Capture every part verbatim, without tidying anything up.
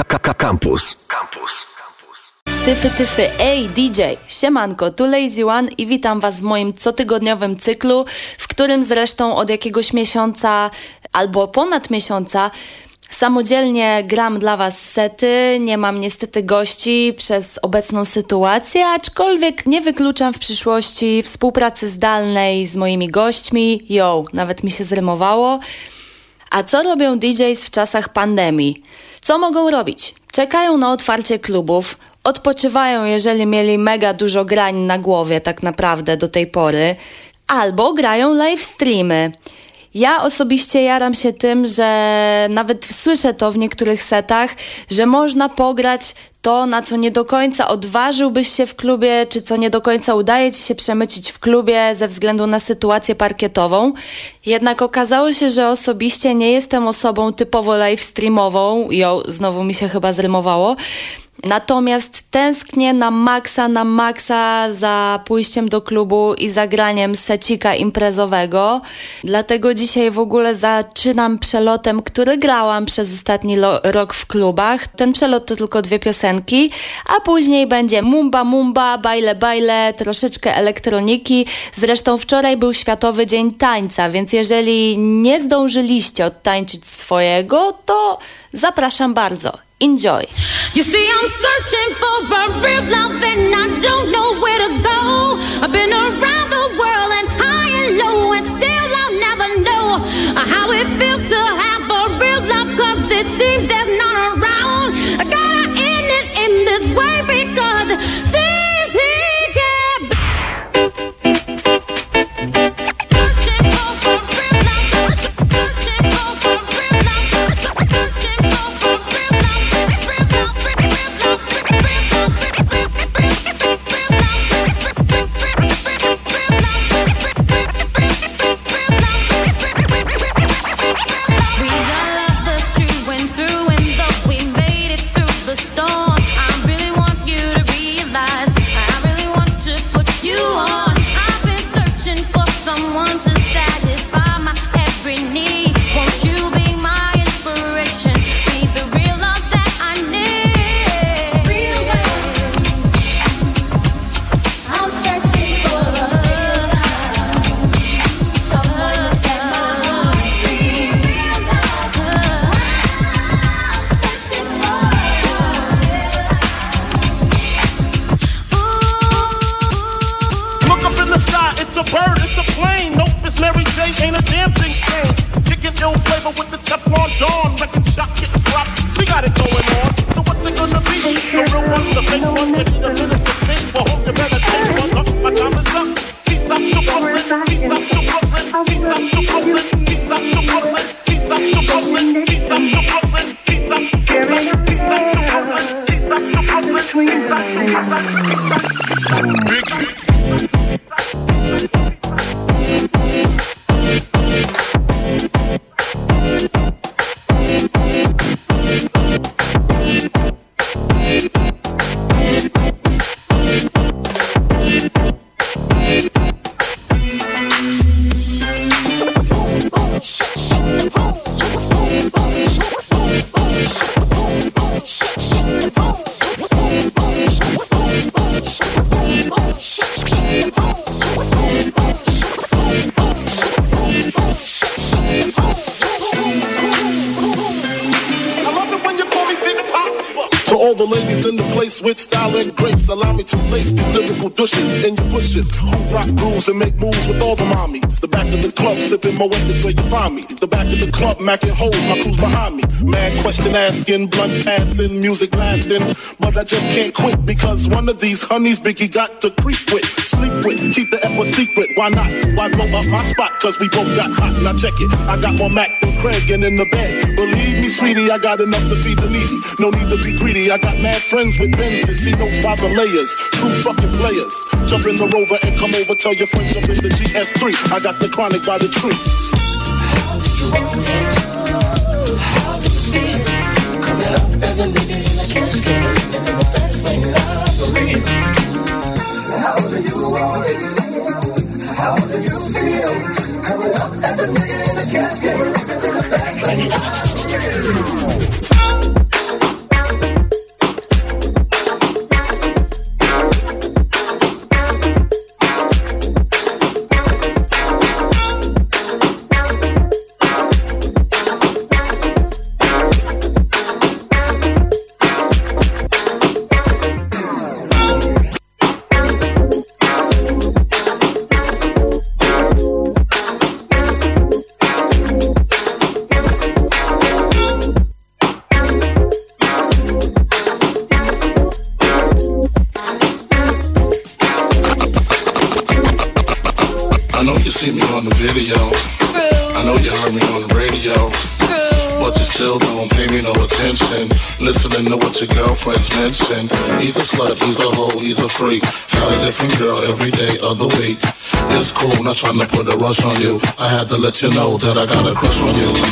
Campus. Campus. Tyfy, tyfy, ej D J, siemanko, tu Lazy One i witam was w moim cotygodniowym cyklu, w którym zresztą od jakiegoś miesiąca albo ponad miesiąca samodzielnie gram dla was sety. Nie mam niestety gości przez obecną sytuację, aczkolwiek nie wykluczam w przyszłości współpracy zdalnej z moimi gośćmi. Yo, nawet mi się zrymowało. A co robią D Js w czasach pandemii? Co mogą robić? Czekają na otwarcie klubów, odpoczywają, jeżeli mieli mega dużo grań na głowie tak naprawdę do tej pory, albo grają live streamy. Ja osobiście jaram się tym, że nawet słyszę to w niektórych setach, że można pograć to, na co nie do końca odważyłbyś się w klubie, czy co nie do końca udaje ci się przemycić w klubie ze względu na sytuację parkietową. Jednak okazało się, że osobiście nie jestem osobą typowo live streamową. Jo, znowu mi się chyba zrymowało. Natomiast tęsknię na maksa, na maksa za pójściem do klubu i zagraniem secika imprezowego. Dlatego dzisiaj w ogóle zaczynam przelotem, który grałam przez ostatni lo- rok w klubach. Ten przelot to tylko dwie piosenki, a później będzie mumba mumba, bajle bajle, troszeczkę elektroniki. Zresztą wczoraj był Światowy Dzień Tańca, więc jeżeli nie zdążyliście odtańczyć swojego, to zapraszam bardzo. Enjoy. You see, I'm searching for a real love and I don't know where to go. I've been around the world and high and low, and still I'll never know how it feels to have a real love, cause it seems there's none around. I gotta end it in this way because it seems he can't. Searching for a real love, searching for a real love, searching for a real love. With style and grace, allow me to lace these lyrical douches in your bushes. Who rock grooves and make moves with all the mommies. The back of the club, sipping my weight is where you find me. The back of the club, macking holes, my crew's behind me. Mad question asking, blunt passing, music lasting. But I just can't quit because one of these honeys Biggie got to creep with, sleep with, keep the F a secret. Why not? Why blow up my spot? Cause we both got hot. Now check it, I got more Mac than Craig and in the bed. Believe me, sweetie, I got enough to feed the needy. No need to be greedy, I got mad friends with Benzes. See notes by the layers, true fucking players. Jump in the Rover and come over, tell your friends jump in the G S three. I got the chronic by the tree. How do you want it? How do you feel? Coming up as a nigga in a cash can, living in a fast lane lottery. How do you want it? How do you feel? Coming up as a nigga in a cash can, living in a fast lane lottery. on the video. True. I know you heard me on the radio. True. But you still don't pay me no attention. Listening to what your girlfriends mention. He's a slut, he's a hoe, he's a freak. Got a different girl every day of the week. It's cool, not trying to put a rush on you. I had to let you know that I got a crush on you.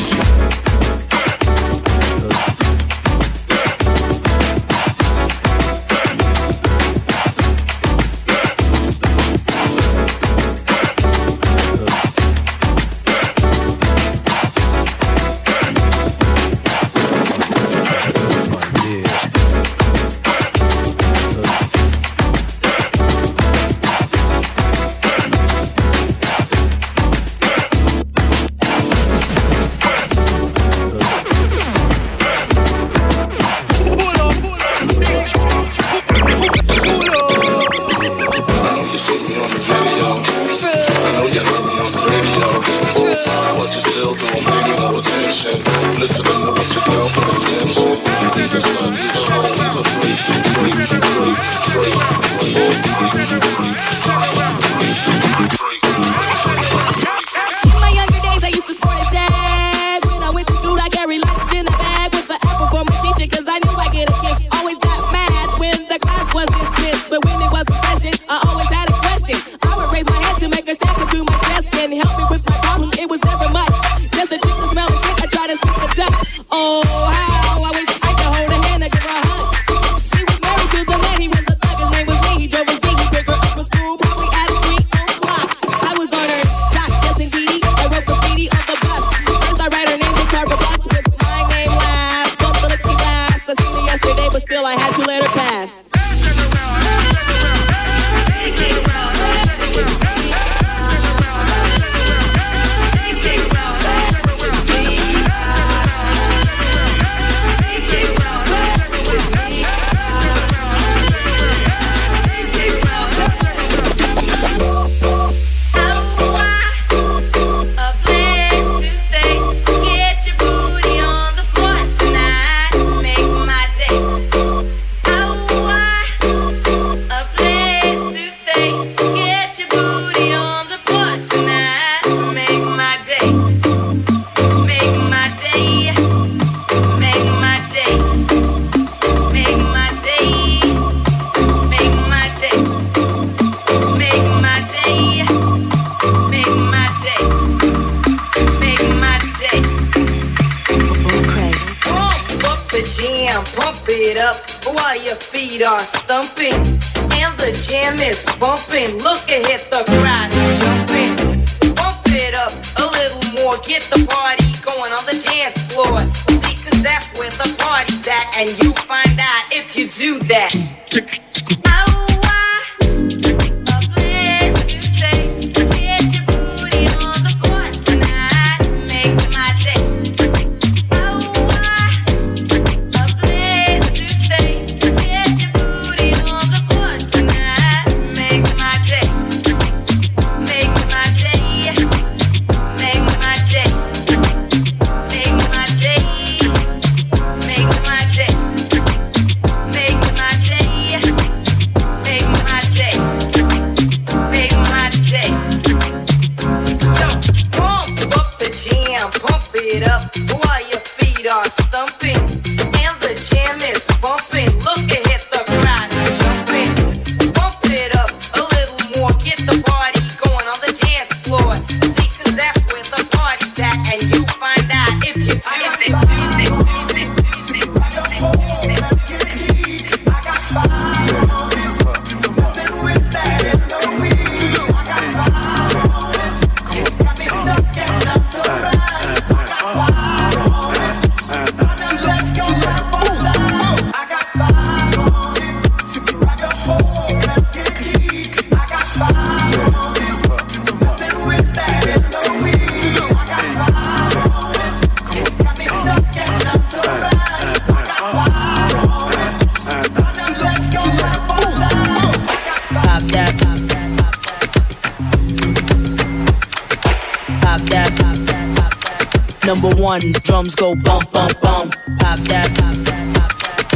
Number one, drums go bump, bump, bump. Pop that, pop that, pop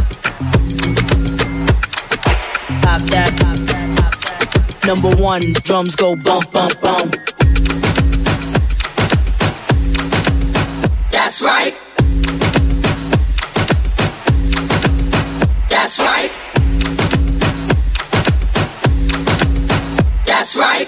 that. Pop that, pop that, pop that. Number one, drums go bump, bump, bump. That's right. That's right. That's right.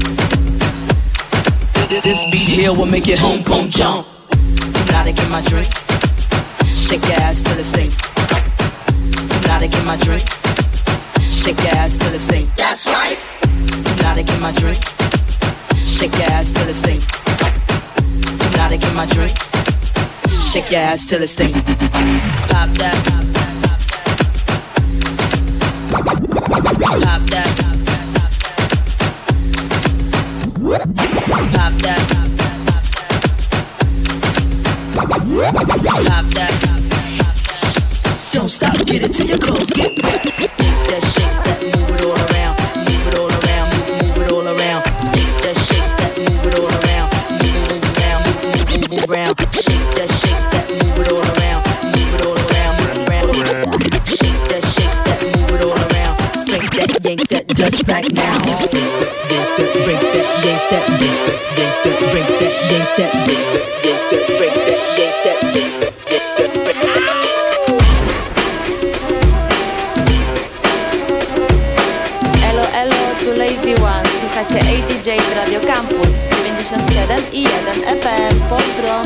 This beat here will make it home, boom, jump. Now to get my drink. Shake your ass till it's stink. Now to get my drink. Shake your ass till it's stink. That's right. Now to get my drink. Shake your ass till it's stink. Now to get my drink. Shake your ass till it's stink. Pop that. Pop that. Pop that. Pop that. Don't stop, get it till your clothes get wet. Shake that, shake that, move it all around. Move it all around, move, move it all around. Shake that, shake that, move it all around. Move, move around, move, move, move, move around. Shake that, shake that, move it all around. Move it all around, move around. Shake that, shake that, move it all around. Spank that, yank that, Dutch back now. Break that, break that, yank that, yank that, yank that, break that, yank that, yank that, yank that, break that, yank that, yank that. Lazy One, słuchacie A D J w Radio Campus dziewięćdziesiąt siedem i jeden F M. Pozdro!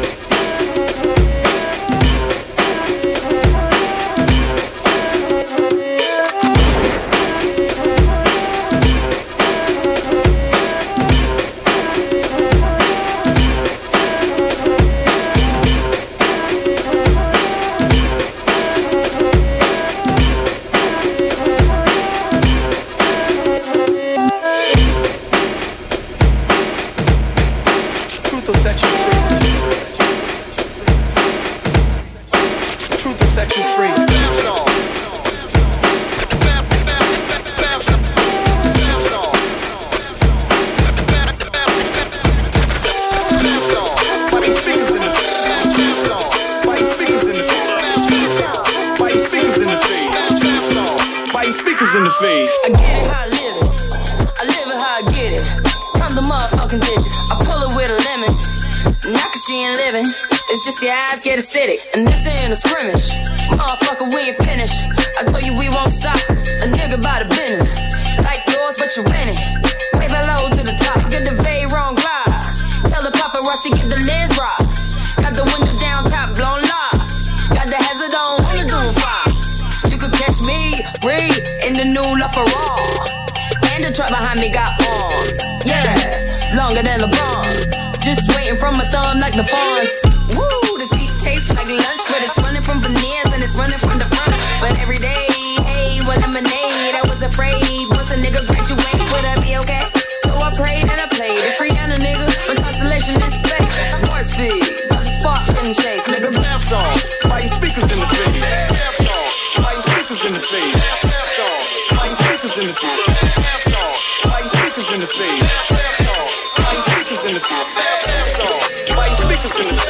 Get acidic, and this ain't a scrimmage. Motherfucker, we ain't finished. I told you we won't stop. A nigga by the business. Like yours, but you rent it. Wave it low to the top. Get the very wrong glide. Tell the paparazzi, get the lens rock. Got the window down, top blown live. Got the hazard on, on the doom fire. You could catch me, breathe, in the new LaFerrari. And the truck behind me got arms. Yeah, longer than LeBron. Just waiting from my thumb like the fawns. Woo! Tastes like lunch, but it's running from veneers and it's running from the front. But every day, hey, with lemonade, I was afraid once a nigga graduate, would I be okay? So I prayed and I played. It's Rihanna, nigga, with constellation in space. Warp speed, spark and chase, nigga. Laugh song, biting speakers in the face. Laugh song, biting speakers in the face. Laugh song, biting speakers in the face. Laugh song, biting speakers in the face. Laugh song, biting speakers in the face. Laugh song, biting speakers in the face.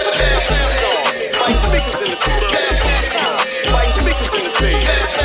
Biting speakers in the face. Biting speakers in the face.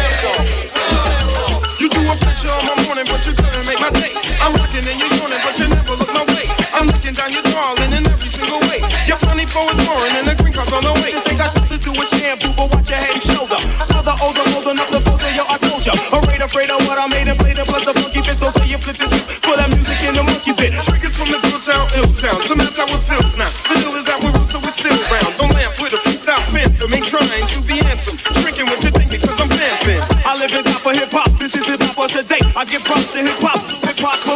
You do a picture on my morning, but you couldn't make my day. I'm rocking and you're yawning, but you never look my way. I'm looking down your darling in every single way. Your funny flow is foreign and the green card's on the way. This ain't got nothing to do with shampoo, but watch your head and shoulder. Another older, holding up the boat, yo, I told ya. Afraid, afraid of what I made and played, and plus the funky bit, so say you flip it too. Put that music in the monkey bit. Triggers from the good town, ill town. Some that's how it feels now. The deal is that we're real, so we're still round. Don't laugh with a freestyle phantom. Ain't trying to be handsome. Drinking what you think because I'm vamping. I live in top of hip hop. This is hip hop for today. I give props to hip hop. Hip hop for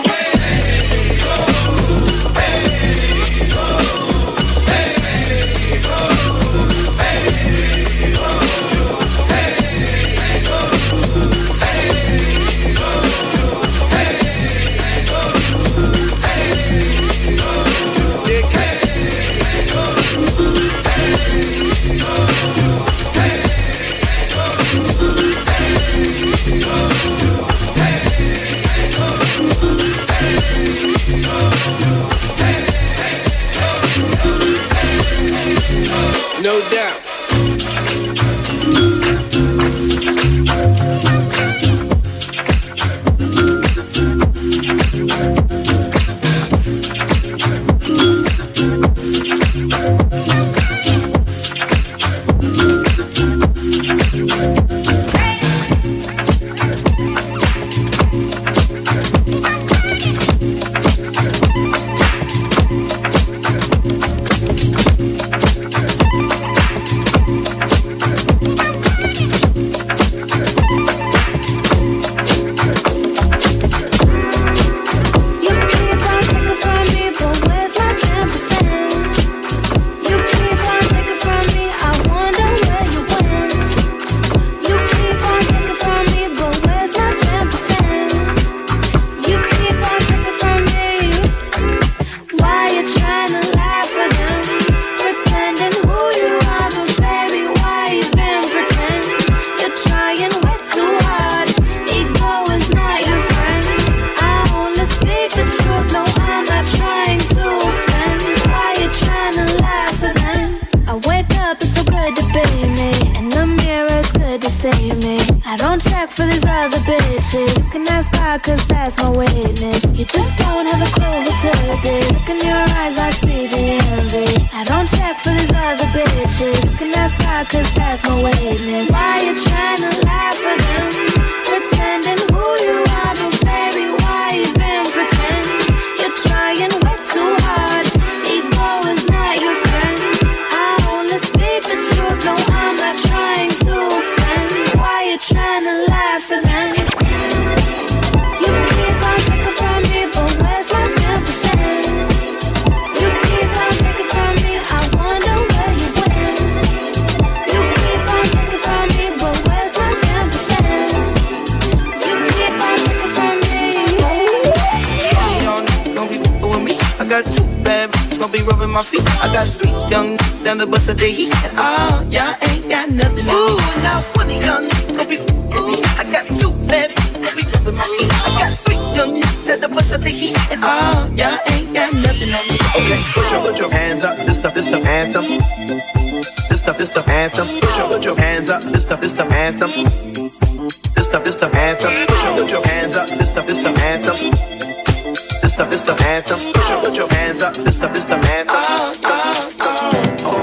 need me. I don't check for these other bitches. You can ask God, cause that's my witness. You just don't have a clue who to be. Look in your eyes, I see the envy. I don't check for these other bitches. You can ask God, cause that's my witness. Why you trying to lie for them? Pretending who you are, but baby, why even pretend? You're trying way too hard. Ego is not your friend. I only speak the truth, no, I'm not trying to offend. Why you trying to lie for them? You keep on taking from me, but where's my ten percent? You keep on taking from me, I wonder where you went. You keep on taking from me, but where's my ten percent? You keep on taking from me. Young niggas gon' be f***ing with me. I got two bad bitches gon' be rubbing my feet. I got three young niggas down the bus of the heat. And all y'all ain't got nothing. Ooh, now one of young niggas gon' be f***ing with me. I got two bad bitches gon' be rubbing my feet. I got three young niggas down the bus of the heat. And all y'all ain't got nothing on me. Okay, put your, put your hands up. This stuff, this stuff anthem. This stuff, this stuff anthem. Put your, put your hands up. This stuff, this stuff anthem. This stuff, this stuff anthem. Put your, put your hands up. This stuff, this stuff anthem. This stuff, this stuff anthem. Put your, put your hands up. This stuff, this stuff anthem. Oh, oh, oh.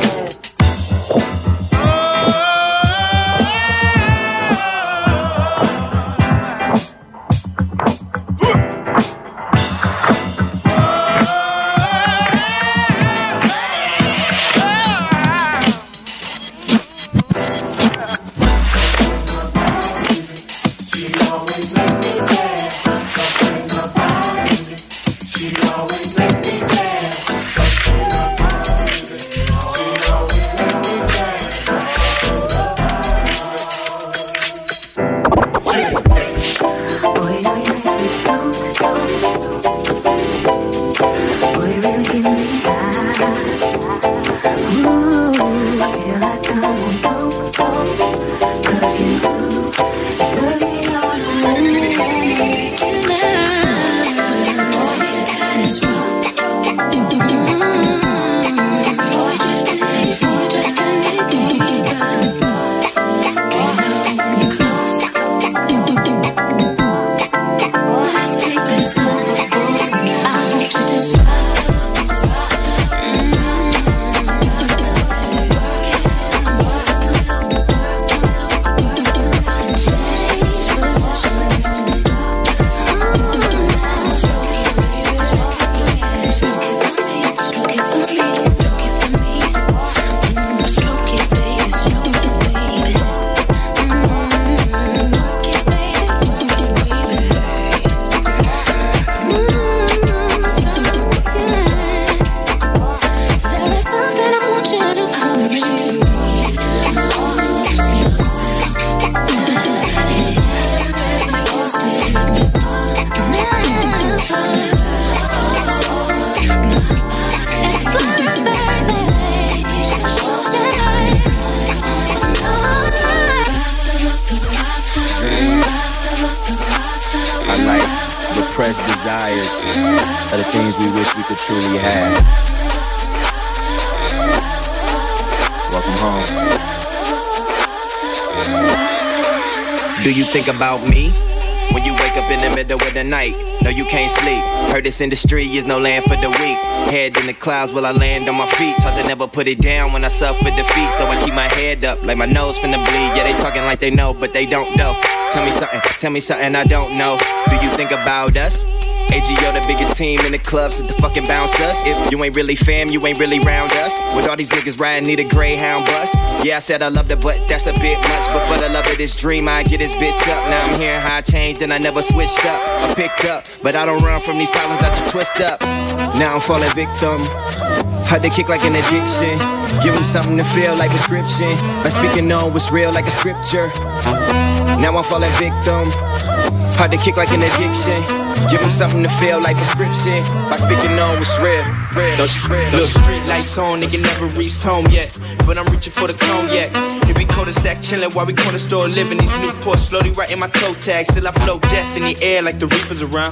Are the things we wish we could truly have. Welcome home. Do you think about me when you wake up in the middle of the night? No, you can't sleep. Heard this industry is no land for the weak. Head in the clouds while I land on my feet. Taught to never put it down when I suffer defeat. So I keep my head up like my nose finna bleed. Yeah, they talking like they know, but they don't know. Tell me something, tell me something I don't know. Do you think about us? A G O, the biggest team in the club, so the fucking bounce us. If you ain't really fam, you ain't really round us. With all these niggas riding, need a Greyhound bus. Yeah, I said I loved her, but that's a bit much. But for the love of this dream, I get this bitch up. Now I'm hearing how I changed and I never switched up. I picked up, but I don't run from these problems, I just twist up. Now I'm falling victim. Hard to kick like an addiction. Give them something to feel like prescription. By speaking on what's real like a scripture. Now I'm falling victim. Hard to kick like an addiction. Give them something to feel like prescription. By speaking on what's real. Those real. Look, street lights on, nigga never reached home yet. But I'm reaching for the cognac. Here we cul-de-sac chillin' while we corner store living. These Newports slowly writing my toe tag. Still I blow death in the air like the reapers around.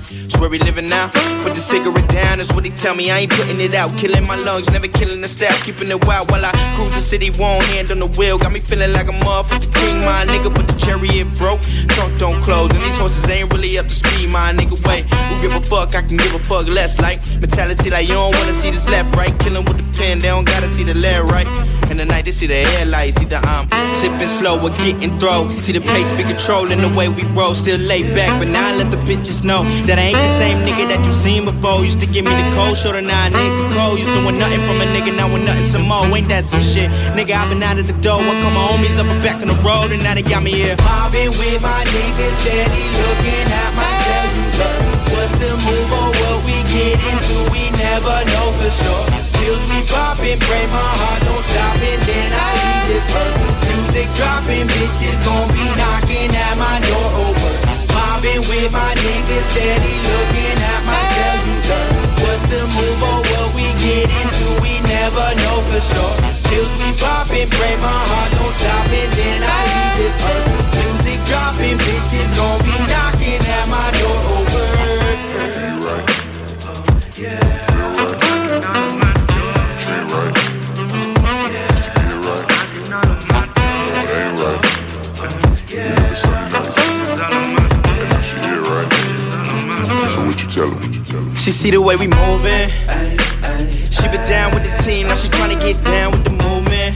It's where we living now. Put the cigarette down, that's what they tell me. I ain't putting it out, killing my lungs, never killing the style, keeping it wild while I cruise the city. One hand on the wheel, got me feeling like a motherfucking king, my nigga. But the chariot broke, trunk don't close, and these horses ain't really up to speed, my nigga. Wait, who give a fuck? I can give a fuck less. Like mentality, like you don't wanna see this left, right? Killing with the pen, they don't gotta see the left, right? And the night they see the headlights, either I'm sipping slow or getting throw. See the pace be controlling the way we roll, still laid back, but now I let the bitches know that I ain't the same nigga that you seen before. Used to give me the cold shoulder, now a nigga cold. Used to want nothing from a nigga, now want nothing some more. Ain't that some shit? Nigga, I been out of the door. I call my homies up and back on the road, and now they got me here. Mobbing with my niggas, steady looking at my cellular. What's the move or what we get into? We never know for sure. Pills we poppin', pray my heart don't stop, and then I leave this earth. Music dropping, bitches gon' be knocking at my door over. Mobbing with my niggas, steady looking at my cellular. What's the move or what we get into? We never know for sure. Pills we poppin', pray my heart don't stop, and then I leave this earth. Music dropping, bitches gon' be knocking at my door over. You right. Yeah. Feel right. Ain't right. Used to be right. No, it ain't right. You never say nice. And now she here, right? So what you tell her? She see the way we moving. She been down with the team, now she tryna get down with the movement.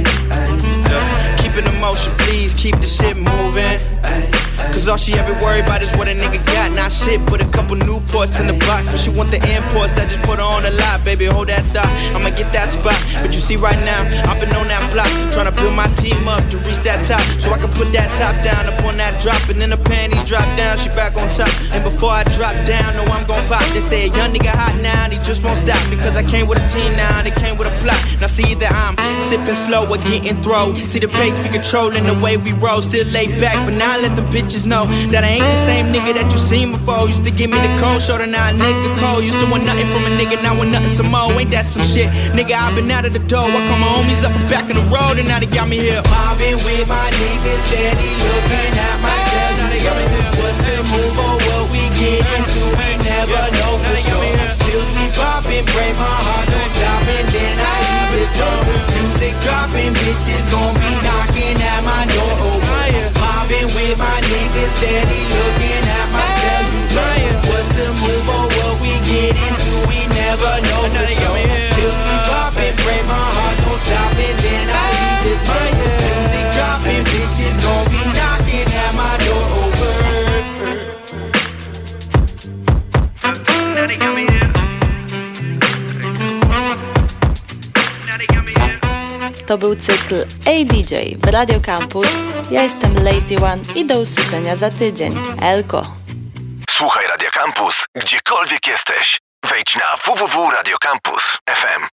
Yeah. Keep it in motion, please keep the shit moving. Cause all she ever worry about is what a nigga got. Not shit, put a couple Newports in the box, but she want the imports that just put her on the lot. Baby, hold that thought, I'ma get that spot. But you see right now, I've been on that block, tryna build my team up to reach that top, so I can put that top down upon that drop. And then the panties drop down, she back on top. And before I drop down, know I'm gon' pop. They say a young nigga hot now, and he just won't stop. Because I came with a team now, and it came with a plot. Now see that I'm sipping slow or getting throw. See the pace be controlling the way we roll. Still laid back, but now I let them bitches know that I ain't the same nigga that you seen before. Used to give me the cold shoulder, now a nigga cold. Used to want nothing from a nigga, now want nothing some more. Ain't that some shit? Nigga, I been out of the door. I call my homies up and back on the road, and now they got me here. Mobbing with my niggas, steady looking at my cellular. Now they got me here. What's the move or what we get into? We never yeah. know for sure. Pills we poppin', pray my heart don't stop, and then I leave this door. Music dropping, bitches gon' be knocking at my door over. Mobbing with my niggas, steady looking at my cellular. What's the move or what we get into? We never know for sure. Pills we poppin', pray my heart don't stop, and then I leave this door. Music dropping, bitches gon' be knocking at my door over. Now they got me here. Now they got me here. To był cykl A D J w Radio Campus. Ja jestem Lazy One i do usłyszenia za tydzień. Elko. Słuchaj Radio Campus, gdziekolwiek jesteś. Wejdź na w w w kropka radio campus kropka f m.